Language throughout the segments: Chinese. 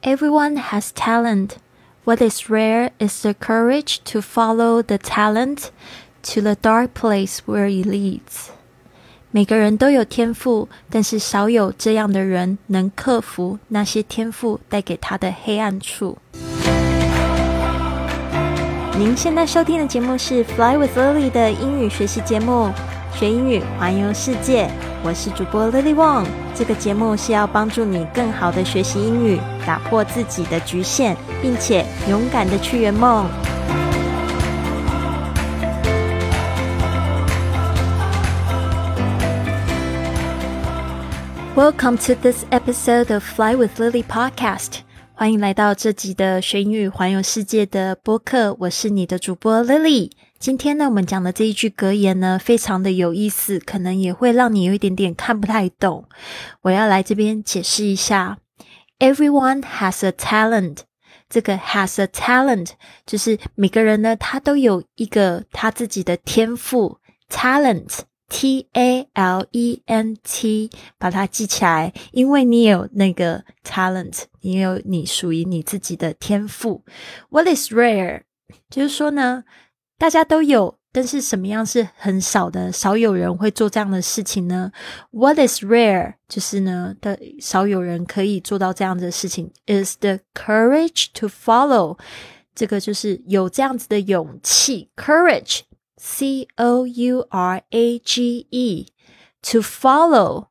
Everyone has talent. What is rare is the courage to follow the talent to the dark place where it leads. 每个人都有天赋，但是少有这样的人能克服那些天赋带给他的黑暗处。您现在收听的节目是 Fly with Lily 的英语学习节目，学英语环游世界。我是主播 Lily Wong， 这个节目是要帮助你更好的学习英语，打破自己的局限，并且勇敢的去圆梦。Welcome to this episode of Fly with Lily podcast. 欢迎来到这集的学英语环游世界的播客，我是你的主播 Lily。今天呢，我们讲的这一句格言呢，非常的有意思，可能也会让你有一点点看不太懂。我要来这边解释一下 Everyone has a talent. 这个 has a talent 就是每个人呢，他都有一个他自己的天赋 talent T-A-L-E-N-T 把它记起来，因为你也有那个 talent， 你也有你属于你自己的天赋。 What is rare 就是说呢，大家都有，但是什么样是很少的，少有人会做这样的事情呢？ What is rare 就是呢，少有人可以做到这样的事情 is the courage to follow 这个就是有这样子的勇气 courage C-O-U-R-A-G-E to follow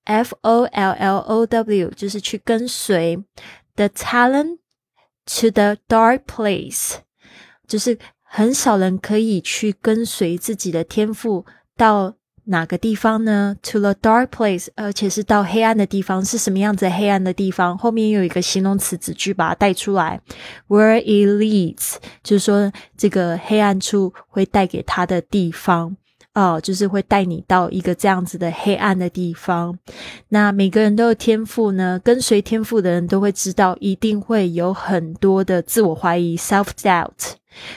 F-O-L-L-O-W 就是去跟随 the talent to the dark place 就是很少人可以去跟随自己的天赋到哪个地方呢 to the dark place 而且是到黑暗的地方。是什么样子的黑暗的地方？后面有一个形容词子句把它带出来 where it leads 就是说这个黑暗处会带给他的地方就是会带你到一个这样子的黑暗的地方。那每个人都有天赋呢，跟随天赋的人都会知道一定会有很多的自我怀疑 self-doubt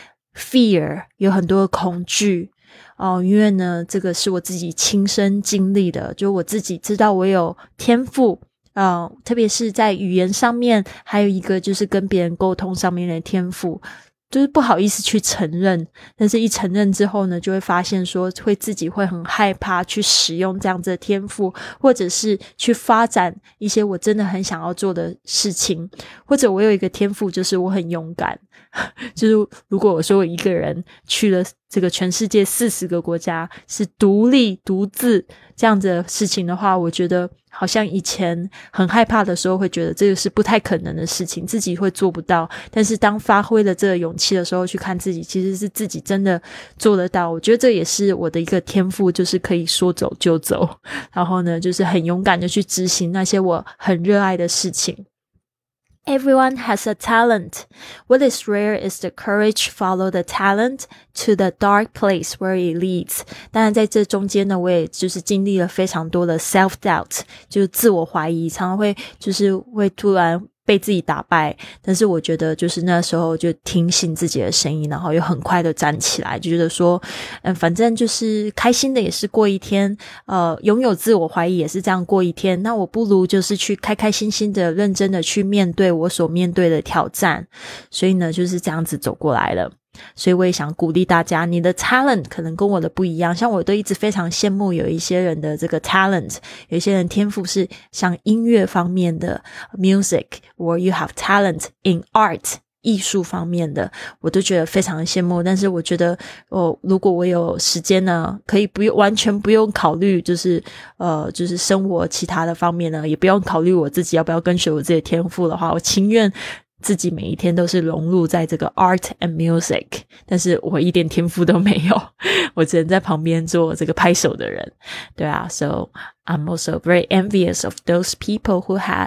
fear 有很多的恐惧因为呢这个是我自己亲身经历的，就我自己知道我有天赋特别是在语言上面，还有一个就是跟别人沟通上面的天赋，就是不好意思去承认，但是一承认之后呢，就会发现说自己会很害怕去使用这样子的天赋，或者是去发展一些我真的很想要做的事情。或者我有一个天赋就是我很勇敢就是如果我说我一个人去了这个全世界40个国家是独立独自这样子的事情的话，我觉得好像以前很害怕的时候会觉得这个是不太可能的事情，自己会做不到。但是当发挥了这个勇气的时候，去看自己其实是自己真的做得到。我觉得这也是我的一个天赋，就是可以说走就走，然后呢就是很勇敢的去执行那些我很热爱的事情。Everyone has a talent. What is rare is the courage to follow the talent to the dark place where it leads. 当然在这中间呢，我也就是经历了非常多的 self-doubt 就是自我怀疑，常常会突然被自己打败，但是我觉得就是那时候就听信自己的声音，然后又很快的站起来，就觉得说反正就是开心的也是过一天拥有自我怀疑也是这样过一天，那我不如就是去开开心心的认真的去面对我所面对的挑战。所以呢就是这样子走过来了。所以我也想鼓励大家，你的 talent 可能跟我的不一样，像我都一直非常羡慕有一些人的这个 talent， 有一些人天赋是像音乐方面的 music or you have talent in art 艺术方面的，我都觉得非常的羡慕。但是我觉得如果我有时间呢，可以完全不用考虑就是生活其他的方面呢，也不用考虑我自己要不要跟随我自己的天赋的话，我情愿自己每一天都是融入在这个 art and music， 但是我一点天赋都没有，我只能在旁边做这个拍手的人。对啊 So I'm also very envious of those people who have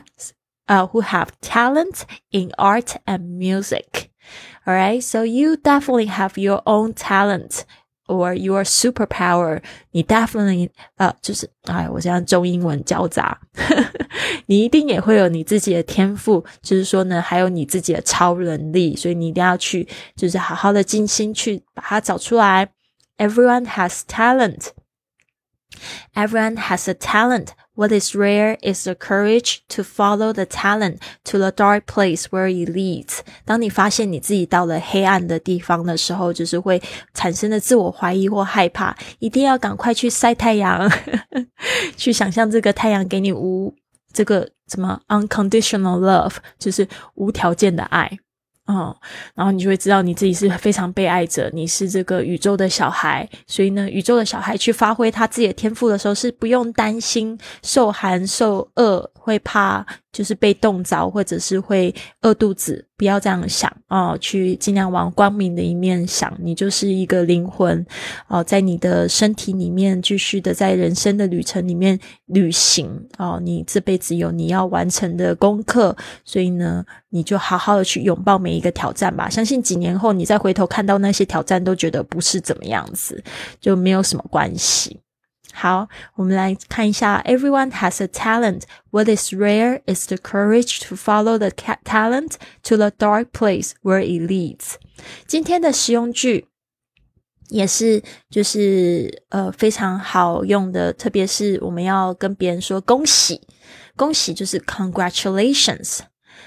talent in art and music. Alright, so you definitely have your own talent or your superpower. 你 definitely 我现在中英文交杂你一定也会有你自己的天赋，就是说呢还有你自己的超能力，所以你一定要去就是好好的精心去把它找出来。 Everyone has talent. Everyone has a talent. What is rare is the courage to follow the talent to the dark place where it leads. 当你发现你自己到了黑暗的地方的时候，就是会产生的自我怀疑或害怕，一定要赶快去晒太阳去想象这个太阳给你这个什么 unconditional love， 就是无条件的爱然后你就会知道你自己是非常被爱着，你是这个宇宙的小孩，所以呢，宇宙的小孩去发挥他自己的天赋的时候，是不用担心受寒受饿，会怕就是被冻着，或者是会饿肚子，不要这样想去尽量往光明的一面想，你就是一个灵魂在你的身体里面继续的在人生的旅程里面旅行你这辈子有你要完成的功课，所以呢，你就好好的去拥抱每一个挑战吧，相信几年后你再回头看到那些挑战都觉得不是怎么样子，就没有什么关系。好，我们来看一下 Everyone has a talent. What is rare is the courage to follow the talent to the dark place where it leads. 今天的实用句也是就是非常好用的，特别是我们要跟别人说恭喜，恭喜就是 congratulations.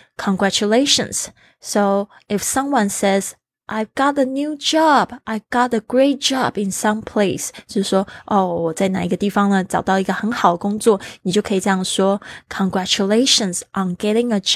So if someone says I've got a new job. I got a great job in some place. 就是说我在哪一个地方呢找到一个很好的工作，你就可以这样说 Congratulations on getting a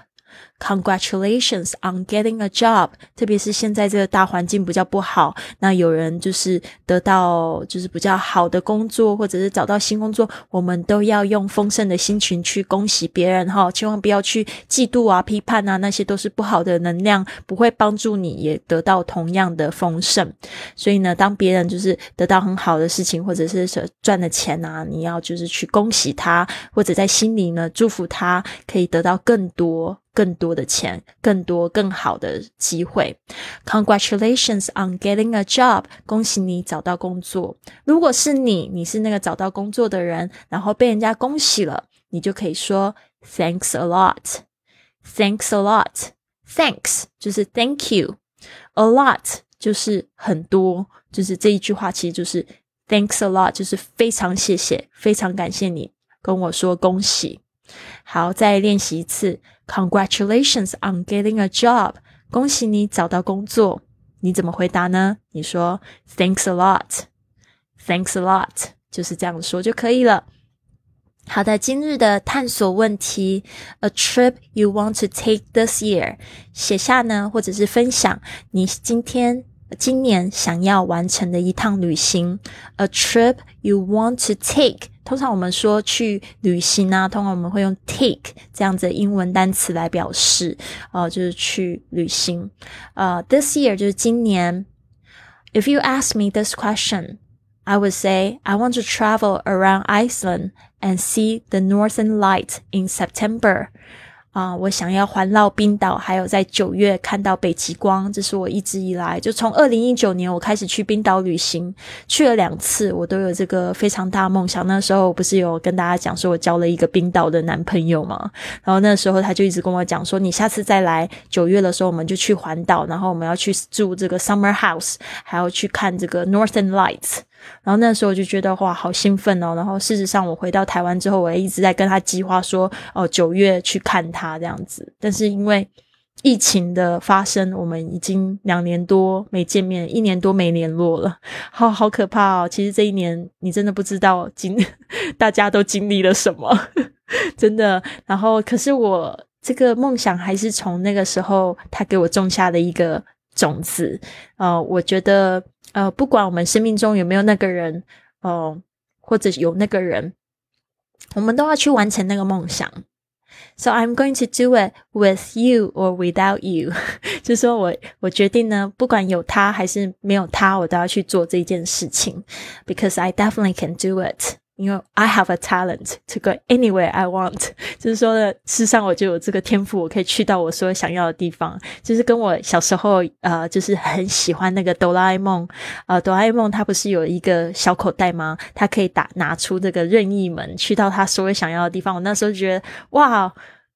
job.Congratulations on getting a job. 特别是现在这个大环境比较不好，那有人就是得到就是比较好的工作，或者是找到新工作，我们都要用丰盛的心情去恭喜别人千万不要去嫉妒啊批判啊，那些都是不好的能量，不会帮助你也得到同样的丰盛。所以呢，当别人就是得到很好的事情，或者是赚了钱啊，你要就是去恭喜他，或者在心里呢祝福他可以得到更多的钱，更多更好的机会。 Congratulations on getting a job. 恭喜你找到工作。如果是你是那个找到工作的人，然后被人家恭喜了，你就可以说 Thanks a lot. Thanks a lot. Thanks 就是 Thank you. A lot 就是很多，就是这一句话其实就是 Thanks a lot 就是非常谢谢，非常感谢你跟我说恭喜。好，再练习一次 Congratulations on getting a job. 恭喜你找到工作。你怎么回答呢？你说 Thanks a lot. Thanks a lot. 就是这样说就可以了。好的，今日的探索问题 A trip you want to take this year. 写下呢，或者是分享你今年想要完成的一趟旅行。A trip you want to take. 通常我们说去旅行啊，通常我们会用 take 这样子的英文单词来表示就是去旅行。This year 就是今年。If you ask me this question, I would say I want to travel around Iceland and see the northern light in September. 我想要环绕冰岛，还有在9月看到北极光，这是我一直以来就从2019年我开始去冰岛旅行，去了2次，我都有这个非常大的梦想。那时候我不是有跟大家讲说我交了一个冰岛的男朋友吗？然后那时候他就一直跟我讲说，你下次再来9月的时候我们就去环岛，然后我们要去住这个 summer house， 还要去看这个 northern lights。然后那时候我就觉得哇好兴奋然后事实上我回到台湾之后，我也一直在跟他计划说9月去看他这样子。但是因为疫情的发生，我们已经2年多没见面，1年多没联络了，好可怕其实这一年你真的不知道大家都经历了什么真的。然后可是我这个梦想还是从那个时候他给我种下的一个种子。我觉得不管我们生命中有没有那个人或者有那个人，我们都要去完成那个梦想。So I'm going to do it with you or without you 就是说我决定呢，不管有他还是没有他，我都要去做这件事情。Because I definitely can do it. You know, I have a talent to go anywhere I want. 就是说呢，事实上我就有这个天赋，我可以去到我所有想要的地方。就是跟我小时候就是很喜欢那个哆啦 A 梦。哆啦 A 梦它不是有一个小口袋吗？它可以拿出这个任意门，去到它所有想要的地方。我那时候就觉得哇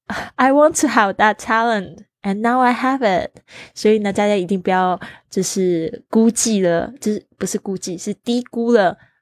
I want to have that talent and now I have it. 所以呢，大家一定不要就是估计了，就是不是估计，是低估了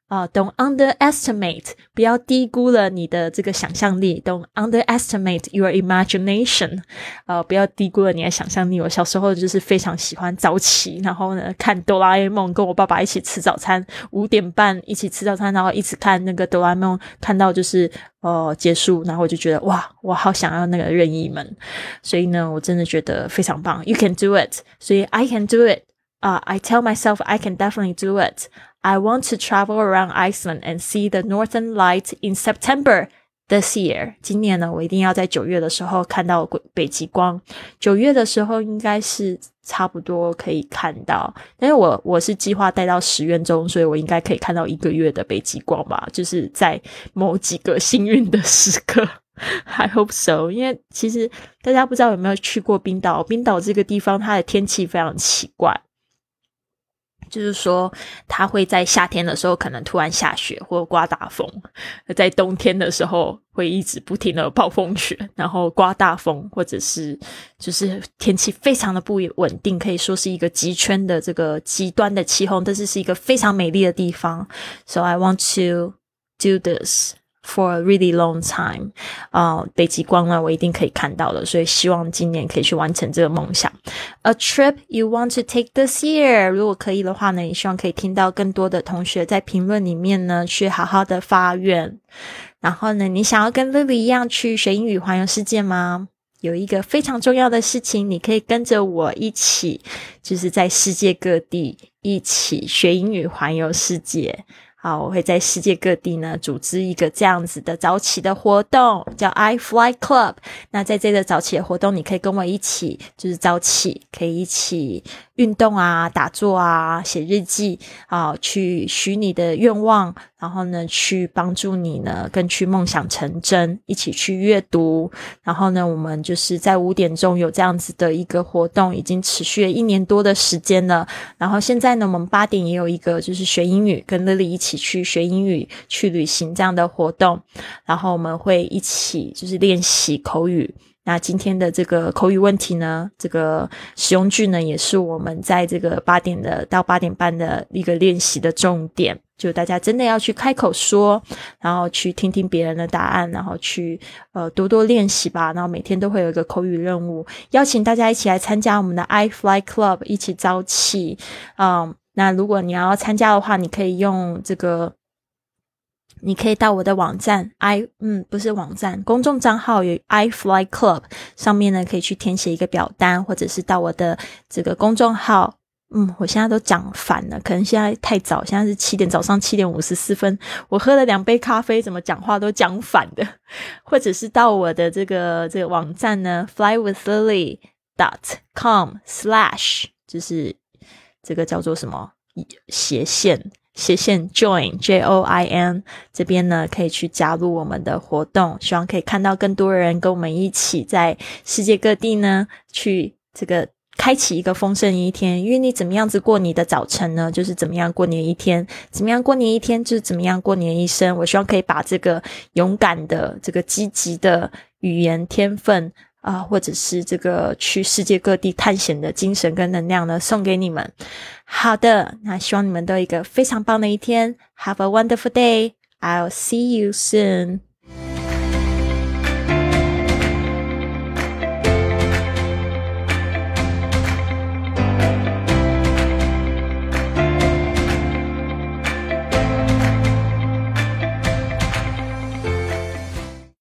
Don't underestimate， 不要低估了你的这个想象力。Don't underestimate your imagination， 不要低估了你的想象力。我小时候就是非常喜欢早起，然后呢看哆啦 A 梦，跟我爸爸一起吃早餐，5点半一起吃早餐，然后一直看那个哆啦 A 梦，看到就是结束，然后我就觉得哇，我好想要那个任意门。所以呢，我真的觉得非常棒。You can do it， 所以 I can do it。I tell myself I can definitely do it.I want to travel around Iceland and see the Northern Lights in September this year. 今年呢，我一定要在9月的时候看到北极光。9月的时候应该是差不多可以看到，但是我是计划待到10月中，所以我应该可以看到1个月的北极光吧，就是在某几个幸运的时刻。I hope so， 因为其实大家不知道有没有去过冰岛，冰岛这个地方它的天气非常奇怪。就是说它会在夏天的时候可能突然下雪或刮大风，在冬天的时候会一直不停的暴风雪，然后刮大风，或者是就是天气非常的不稳定，可以说是一个极圈的这个极端的气候，但是一个非常美丽的地方。So I want to do this for a really long time. 北极光呢我一定可以看到的，所以希望今年可以去完成这个梦想。A trip you want to take this year， 如果可以的话呢，也希望可以听到更多的同学在评论里面呢去好好的发愿。然后呢，你想要跟 Lily 一样去学英语环游世界吗？有一个非常重要的事情，你可以跟着我一起，就是在世界各地一起学英语环游世界。好，我会在世界各地呢组织一个这样子的早起的活动，叫 I Fly Club。那在这个早起的活动，你可以跟我一起，就是早起可以一起运动啊，打坐啊，写日记啊，去许你的愿望，然后呢去帮助你呢更去梦想成真，一起去阅读。然后呢我们就是在5点钟有这样子的一个活动，已经持续了1年多的时间了。然后现在呢我们8点也有一个就是学英语，跟 Lily 一起去学英语，去旅行这样的活动。然后我们会一起就是练习口语。那今天的这个口语问题呢，这个实用句呢，也是我们在这个8点的到8点半的一个练习的重点，就大家真的要去开口说，然后去听听别人的答案，然后去多多练习吧。然后每天都会有一个口语任务，邀请大家一起来参加我们的 I Fly Club， 一起早起。那如果你要参加的话，你可以用这个，你可以到我的网站不是网站，公众账号有 I Fly Club， 上面呢可以去填写一个表单，或者是到我的这个公众号。我现在都讲反了，可能现在太早，现在是早上7点54分，我喝了2杯咖啡，怎么讲话都讲反的。或者是到我的这个网站呢 flywithlily.com/ 就是这个叫做什么斜线 join JOIN， 这边呢可以去加入我们的活动，希望可以看到更多人跟我们一起在世界各地呢去这个开启一个丰盛一天。因为你怎么样子过你的早晨呢，就是怎么样过你的一天，怎么样过你一天就是怎么样过你的一生。我希望可以把这个勇敢的这个积极的语言天分或者是这个去世界各地探险的精神跟能量呢送给你们。好的，那希望你们都有一个非常棒的一天。Have a wonderful day. I'll see you soon.